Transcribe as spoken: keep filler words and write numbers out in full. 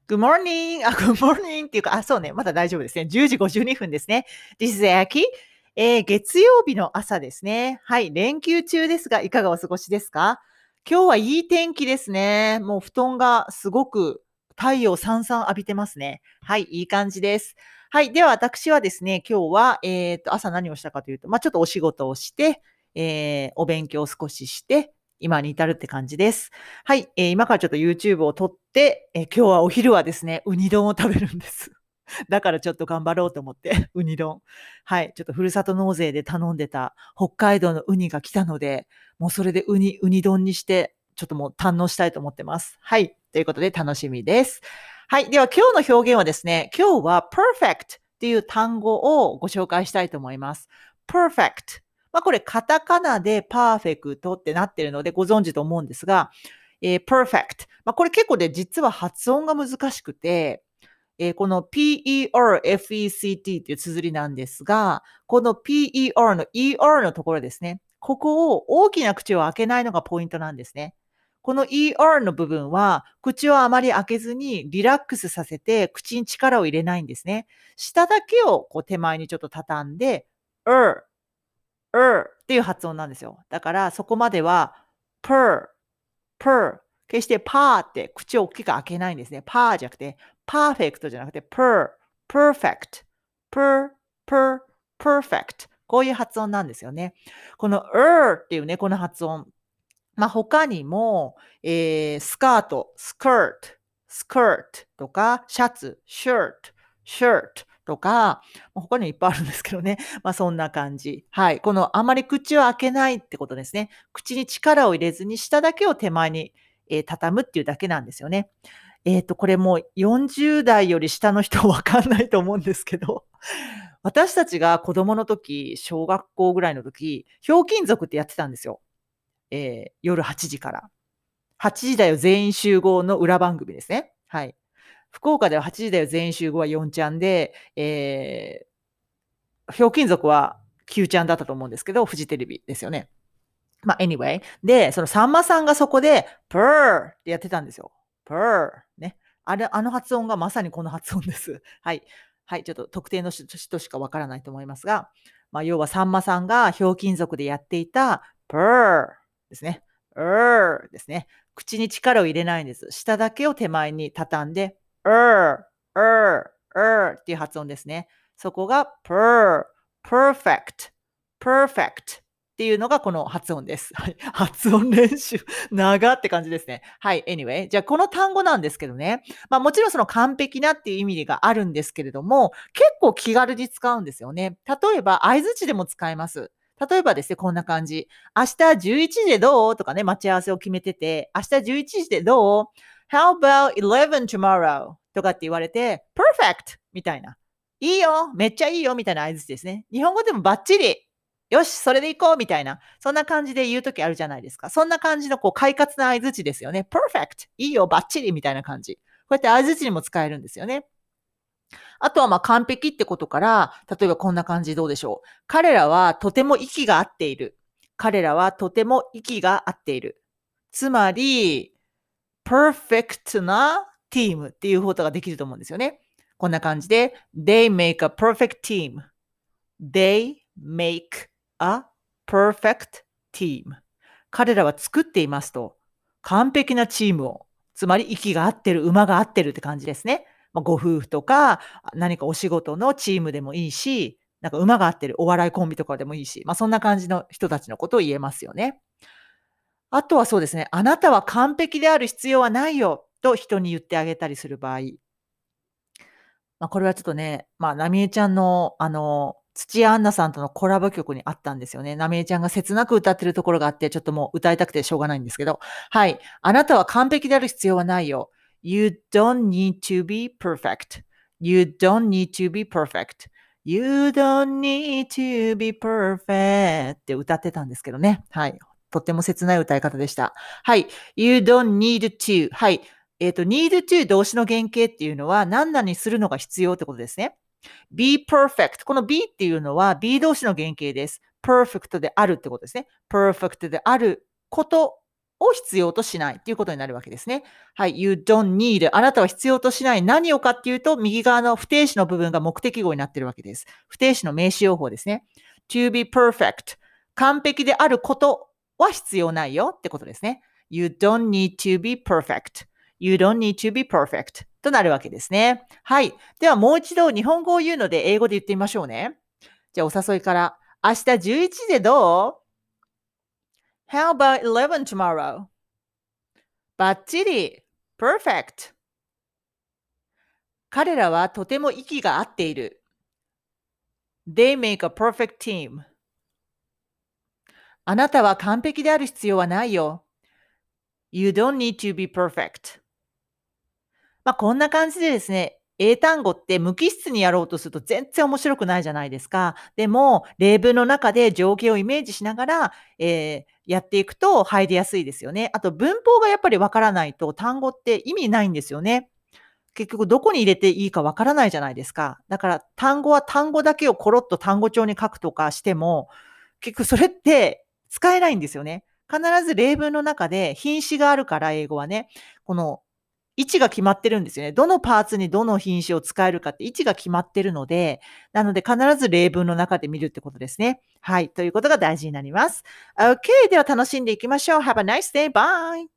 Good morning! あ、Good morning! っていうか、あ、そうね。まだ大丈夫ですね。じゅうじごじゅうにふんですね。This is Aki. えー、月曜日の朝ですね。はい。連休中ですが、いかがお過ごしですか？今日はいい天気ですね。もう布団がすごく太陽さんさん浴びてますね。はい。いい感じです。はい。では私はですね、今日は、えっと、朝何をしたかというと、まあ、ちょっとお仕事をして、えー、お勉強を少しして、今に至るって感じです。はい、えー今からちょっと YouTube を撮って、えー今日はお昼はですね、ウニ丼を食べるんです。だからちょっと頑張ろうと思って、ウニ丼。はい、ちょっとふるさと納税で頼んでた北海道のウニが来たので、もうそれでウニ、ウニ丼にして、ちょっともう堪能したいと思ってます。はい、ということで楽しみです。はい、では今日の表現はですね、今日は perfect っていう単語をご紹介したいと思います。perfect。まあこれカタカナでパーフェクトってなってるのでご存知と思うんですが、えー perfect。まあこれ結構で実は発音が難しくて、えーこの P-E-R-F-E-C-T っていう綴りなんですが、この P-E-R の イーアール のところですね。ここを大きな口を開けないのがポイントなんですね。この イーアール の部分は、口をあまり開けずにリラックスさせて口に力を入れないんですね。下だけをこう手前にちょっと畳んで、er、er っていう発音なんですよ。だからそこまでは per、per、決してパーって口を大きく開けないんですね。パーじゃなくて、パーフェクトじゃなくて、per、perfect、per、per、perfect。こういう発音なんですよね。この er っていうね、この発音。まあ、他にも、えー、スカート、skirt、skirt とか、シャツ、shirt、shirt とか、まあ他にもいっぱいあるんですけどね。まあ、そんな感じ。はい。このあまり口を開けないってことですね。口に力を入れずに、下だけを手前に、えー畳むっていうだけなんですよね。えっと、これもうよんじゅう代より下の人わかんないと思うんですけど、私たちが子供の時、小学校ぐらいの時、ひょうきん族ってやってたんですよ。えー夜はちじから。はちじだよ全員集合の裏番組ですね。はい。福岡でははちじだよ全員集合はよんちゃんで、えー、ひょうきん族はきゅうちゃんだったと思うんですけど、フジテレビですよね。まあ、anyway。で、そのさんまさんがそこで、プーってやってたんですよ。プーね。あれ、あの発音がまさにこの発音です。はい。はい。ちょっと特定の人しかわからないと思いますが、まあ、要はさんまさんがひょうきん族でやっていた、プーですね。うーですね。口に力を入れないんです。下だけを手前に畳んで、うー、うー、うーっていう発音ですね。そこが、プー、perfect、perfect。っていうのがこの発音です。はい。発音練習、長って感じですね。はい、anyway。じゃあこの単語なんですけどね。まあもちろんその完璧なっていう意味があるんですけれども、結構気軽に使うんですよね。例えば、相槌でも使えます。例えばですね、こんな感じ。明日じゅういちじでどうとかね、待ち合わせを決めてて、明日じゅういちじでどう ?How about eleven tomorrow? とかって言われて、perfect! みたいな。いいよめっちゃいいよみたいな相槌ですね。日本語でもバッチリよし、それで行こうみたいな、そんな感じで言うときあるじゃないですか。そんな感じのこう快活な相槌ですよね。perfect! いいよ、バッチリみたいな感じ。こうやって相槌にも使えるんですよね。あとはまあ完璧ってことから、例えばこんな感じどうでしょう。彼らはとても息が合っている。彼らはとても息が合っている。つまり、perfect なチームっていうことができると思うんですよね。こんな感じで、they make a perfect team.They make a perfect team. 彼らは作っていますと。完璧なチームを。つまり息が合ってる、馬が合ってるって感じですね。まあ、ご夫婦とか、何かお仕事のチームでもいいし、なんか馬が合ってるお笑いコンビとかでもいいし、まあ、そんな感じの人たちのことを言えますよね。あとはそうですね、あなたは完璧である必要はないよと人に言ってあげたりする場合。まあ、これはちょっとね、まあ、なみえちゃんの、あの、土屋アンナさんとのコラボ曲にあったんですよね。なみえちゃんが切なく歌ってるところがあって、ちょっともう歌いたくてしょうがないんですけど。はい。あなたは完璧である必要はないよ。You don't need to be perfect. You don't need to be perfect. You don't need to be perfect って歌ってたんですけどね。はい。とっても切ない歌い方でした。はい。You don't need to. はい。えっ、と、need to 動詞の原型っていうのは、何々にするのが必要ってことですね。be perfect。この be っていうのは be 動詞の原型です。perfect であるってことですね。perfect であることを必要としないっていうことになるわけですね。はい。You don't need. あなたは必要としない。何をかっていうと、右側の不定詞の部分が目的語になっているわけです。不定詞の名詞用法ですね。to be perfect. 完璧であることは必要ないよってことですね。You don't need to be perfect.You don't need to be perfect. となるわけですね。はい。ではもう一度日本語を言うので英語で言ってみましょうね。じゃあお誘いから。明日じゅういちじでどう ?How about eleven tomorrow? バッチリ !Perfect! 彼らはとても息が合っている。They make a perfect team. あなたは完璧である必要はないよ。You don't need to be perfect. まあ、こんな感じでですね、英単語って無機質にやろうとすると全然面白くないじゃないですか。でも、例文の中で情景をイメージしながら、えーやっていくと入りやすいですよね。あと文法がやっぱりわからないと単語って意味ないんですよね。結局どこに入れていいかわからないじゃないですか。だから単語は単語だけをコロッと単語帳に書くとかしても、結局それって使えないんですよね。必ず例文の中で品詞があるから英語はね、この位置が決まってるんですよね。どのパーツにどの品詞を使えるかって位置が決まってるので、なので必ず例文の中で見るってことですね。はい。ということが大事になります。OK。では楽しんでいきましょう。Have a nice day. Bye.